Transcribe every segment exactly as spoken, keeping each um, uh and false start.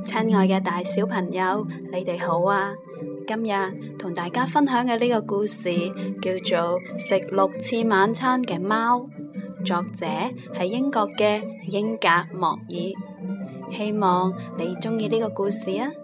親愛嘅大小朋友，你哋好啊！今日同大家分享嘅呢個故事叫做《食六次晚餐嘅貓》，作者係英國嘅英格莫爾。希望你鍾意呢個故事啊！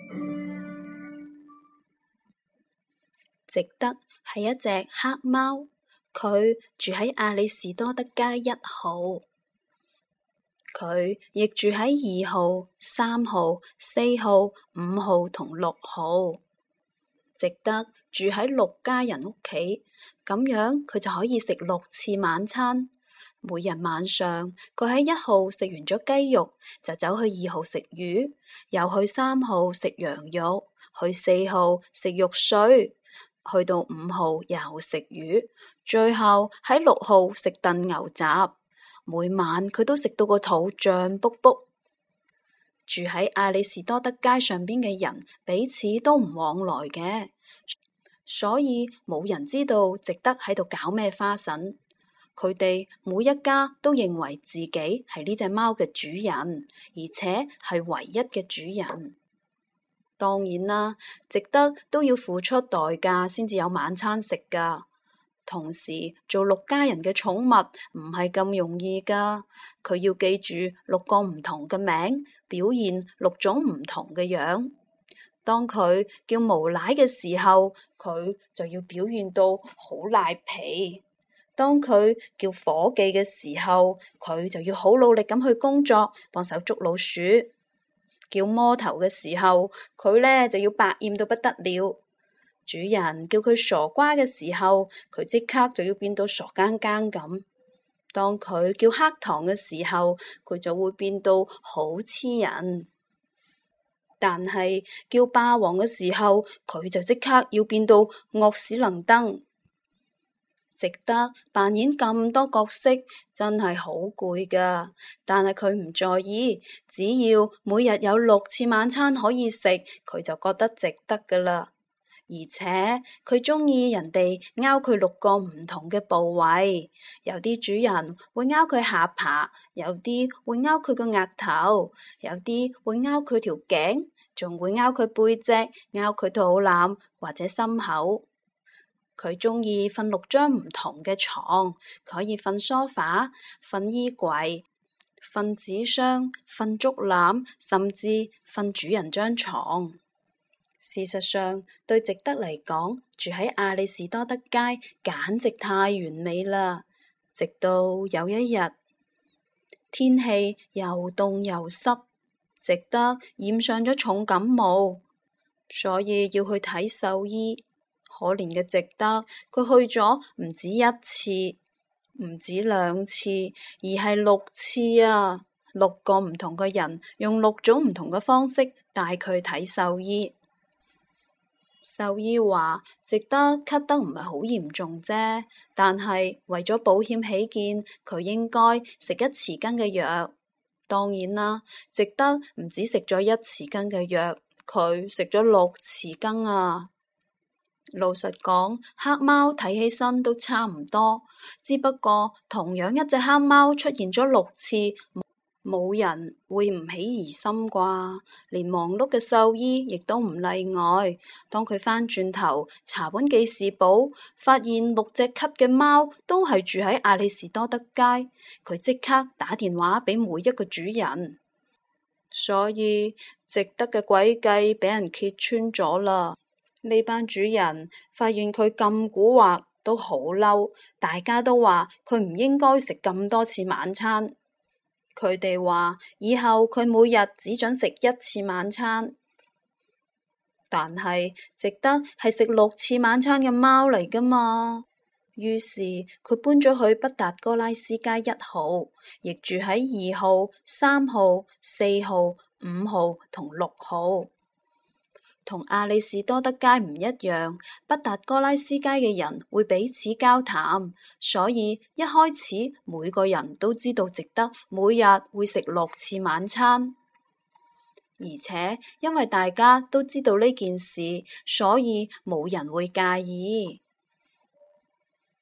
值德係一隻黑貓，佢住喺亞里士多德街一號。佢亦住喺二號、三號、四號、五號同六號。值德住喺六家人屋企，咁樣佢就可以食六次晚餐。每日晚上，佢喺一號食完咗雞肉，就走去二號食魚，又去三號食羊肉，去四號食肉碎，去到五號又食魚，最後喺六號食燉牛雜。每晚佢都食到個肚脹卜卜。住喺亞里士多德街上邊嘅人彼此都唔往來嘅，所以冇人知道值德喺度搞咩花臣。佢哋每一家都認為自己係呢隻貓嘅主人，而且係唯一嘅主人。當然啦，值德都要付出代價先至有晚餐食㗎。同時做六家人嘅寵物唔係咁容易㗎，佢要記住六個唔同嘅名，表現六種唔同嘅樣。當佢叫無賴嘅時候，佢就要表現到好賴皮；當佢叫伙計嘅時候，佢就要好努力咁去工作，幫手捉老鼠；叫魔頭嘅時候，佢呢就要百厭到不得了。主人叫佢傻瓜嘅時候，佢即刻就要變到傻更更咁。當佢叫黑糖嘅時候，佢就會變到好黐人。但係叫霸王嘅時候，佢就即刻要變到惡死能登。值德扮演咁多角色，真係好攰㗎。但係佢唔在意，只要每日有六次晚餐可以食，佢就覺得值得㗎啦。而且佢鍾意人哋撓佢六個唔同嘅部位，有啲主人會撓佢下巴，有啲會撓佢個額頭，有啲會撓佢條頸，仲會撓佢背脊、撓佢肚腩或者心口。佢鍾意瞓六張唔同嘅床，佢可以瞓梳化、瞓衣櫃、瞓紙箱、瞓竹籃，甚至瞓主人張床。事實上，對值德嚟講，住喺亞里士多德街簡直太完美啦。直到有一日，天氣又凍又濕，值德染上咗重感冒，所以要去睇獸醫。可憐嘅值德，佢去咗唔止一次，唔止兩次，而係六次啊！六個唔同嘅人用六種唔同嘅方式帶佢睇獸醫。獸醫話值德咳得唔係好嚴重啫，但係為咗保險起見，佢應該食一匙羹嘅藥。當然啦，值德唔止食咗一匙羹嘅藥，佢食咗六匙羹啊！老實講，黑貓睇起身都差唔多，只不過同樣一隻黑貓出現咗六次，冇人會唔起疑心啩，連忙碌嘅獸醫亦都唔例外。當佢返轉頭查本記事簿，發現六隻咳嘅貓都係住喺亞里士多德街，佢即刻打電話俾每一個主人。所以值德嘅詭計俾人揭穿咗啦。呢班主人發現佢咁蠱惑，都好嬲，大家都話佢唔應該食咁多次晚餐。佢哋話以後佢每日只准食一次晚餐，但係值德係食六次晚餐嘅貓嚟㗎嘛。於是佢搬咗去畢達哥拉斯街一號，亦住喺二號、三號、四號、五號同六號。同亞里士多德街唔一樣，畢達哥拉斯街嘅人會彼此交談，所以一開始每個人都知道值德每日會食六次晚餐。而且因為大家都知道呢件事，所以冇人會介意。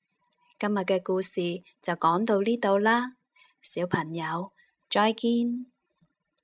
今日嘅故事就講到呢度啦，小朋友，再見。